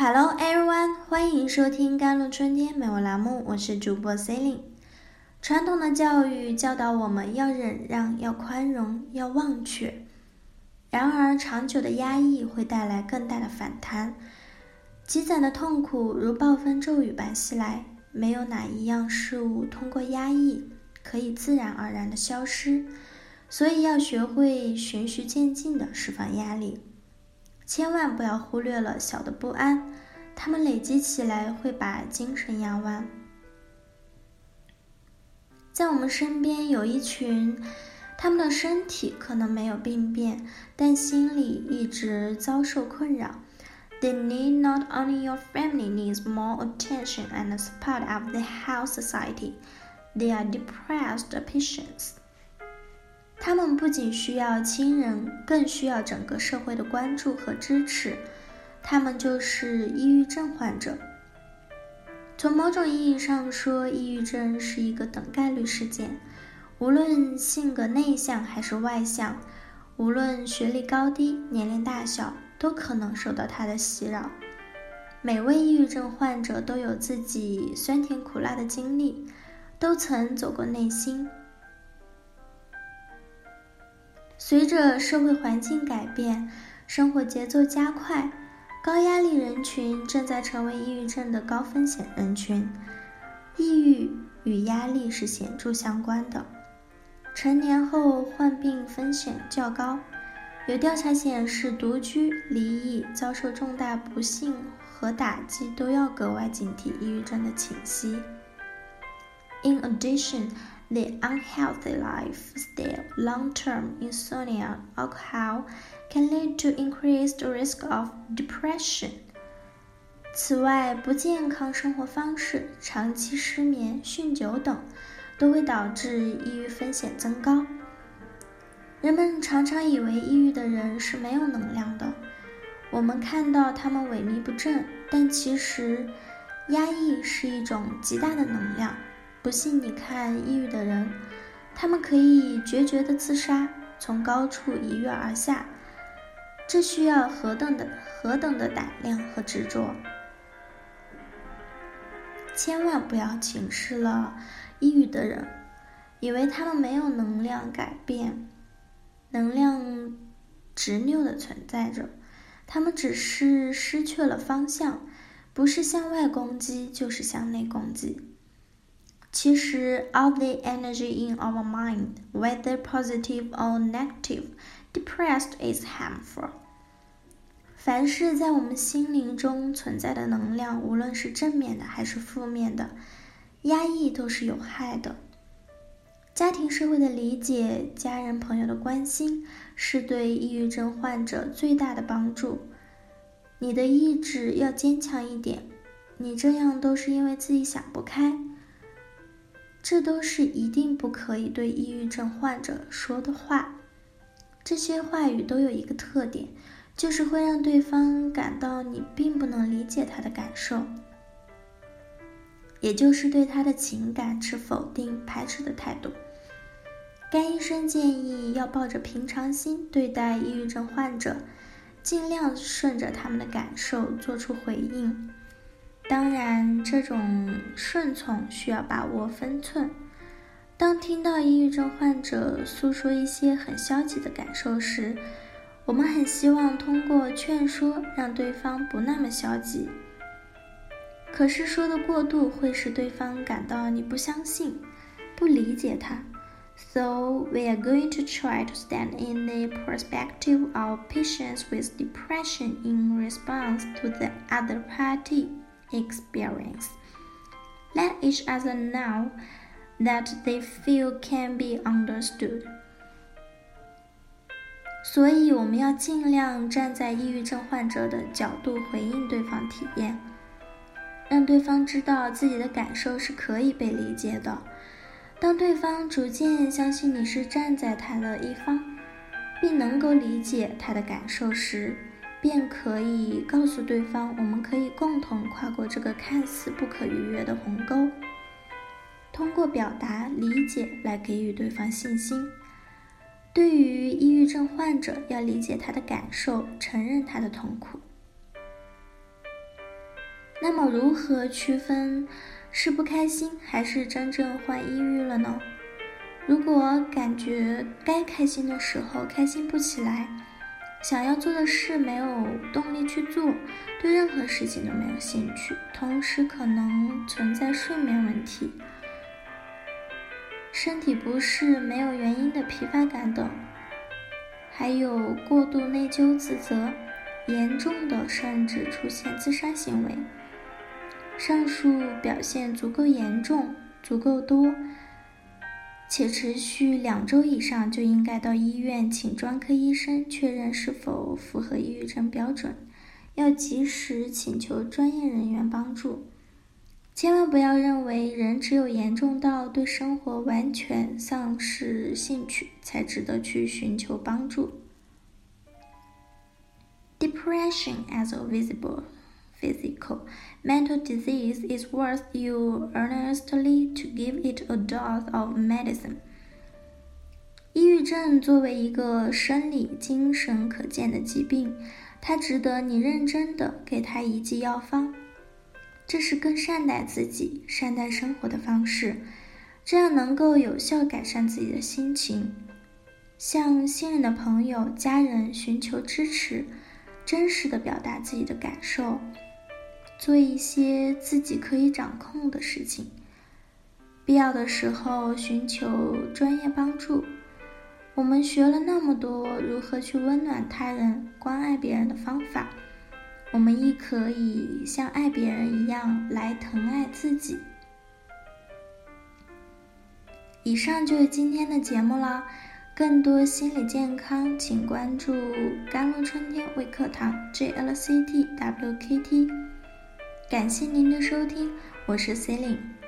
Hello everyone， 欢迎收听甘露春天美文栏目，我是主播 Celine。传统的教育教导我们要忍让，要宽容，要忘却。然而，长久的压抑会带来更大的反弹，积攒的痛苦如暴风骤雨般袭来。没有哪一样事物通过压抑可以自然而然的消失，所以要学会循序渐进的释放压力。千万不要忽略了小的不安，它们累积起来会把精神压弯。在我们身边有一群，他们的身体可能没有病变，但心里一直遭受困扰。They need not only your family needs more attention and support of the whole society. They are depressed patients.他们不仅需要亲人，更需要整个社会的关注和支持。他们就是抑郁症患者。从某种意义上说，抑郁症是一个等概率事件。无论性格内向还是外向，无论学历高低、年龄大小，都可能受到它的袭扰。每位抑郁症患者都有自己酸甜苦辣的经历，都曾走过内心。随着社会环境改变，生活节奏加快，高压力人群正在成为抑郁症的高风险人群。抑郁与压力是显著相关的，成年后患病风险较高。有调查显示，独居、离异、遭受重大不幸和打击都要格外警惕抑郁症的侵袭。In addition,The unhealthy lifestyle, long-term insomnia, alcohol can lead to increased risk of depression. 此外，不健康生活方式、长期失眠、酗酒等都会导致抑郁风险增高。人们常常以为抑郁的人是没有能量的，我们看到他们萎靡不振，但其实压抑是一种极大的能量。不信你看抑郁的人，他们可以决绝的自杀，从高处一跃而下，这需要何等的胆量和执着。千万不要轻视了抑郁的人，以为他们没有能量改变，能量执拗的存在着，他们只是失去了方向，不是向外攻击，就是向内攻击。其实 all the energy in our mind, whether positive or negative, depressed is harmful. 凡是在我们心灵中存在的能量，无论是正面的还是负面的，压抑都是有害的。家庭社会的理解，家人朋友的关心，是对抑郁症患者最大的帮助。你的意志要坚强一点，你这样都是因为自己想不开。这都是一定不可以对抑郁症患者说的话。这些话语都有一个特点，就是会让对方感到你并不能理解他的感受，也就是对他的情感持否定、排斥的态度。该医生建议要抱着平常心对待抑郁症患者，尽量顺着他们的感受做出回应。当然，这种顺从需要把握分寸。当听到抑郁症患者诉说一些很消极的感受时，我们很希望通过劝说让对方不那么消极。可是说的过度会使对方感到你不相信、不理解他。So we are going to try to stand in the perspective of patients with depression in response to the other party experience. Let each other know that they feel can be understood. 所以我们要尽量站在抑郁症患者的角度回应对方体验，让对方知道自己的感受是可以被理解的。当对方逐渐相信你是站在他的一方，并能够理解他的感受时，便可以告诉对方，我们可以共同跨过这个看似不可逾越的鸿沟，通过表达理解来给予对方信心。对于抑郁症患者，要理解他的感受，承认他的痛苦。 那么如何区分是不开心还是真正患抑郁了呢？如果感觉该开心的时候开心不起来，想要做的事没有动力去做，对任何事情都没有兴趣，同时可能存在睡眠问题、身体不适、没有原因的疲乏感等，还有过度内疚自责，严重的甚至出现自杀行为。上述表现足够严重、足够多，且持续2周以上，就应该到医院请专科医生确认是否符合抑郁症标准，要及时请求专业人员帮助。千万不要认为人只有严重到对生活完全丧失兴趣，才值得去寻求帮助。Depression as a visible physical mental disease is worth you earnestly to give it a dose of medicine. 抑郁症作为一个生理、精神可见的疾病，它值得你认真地给它一剂药方。这是更善待自己、善待生活的方式，这样能够有效改善自己的心情。向信任的朋友、家人寻求支持，真实地表达自己的感受，做一些自己可以掌控的事情，必要的时候寻求专业帮助。我们学了那么多如何去温暖他人、关爱别人的方法，我们亦可以像爱别人一样来疼爱自己。以上就是今天的节目了，更多心理健康请关注甘露春天微课堂 JLCT WKT。感谢您的收听，我是 Celine。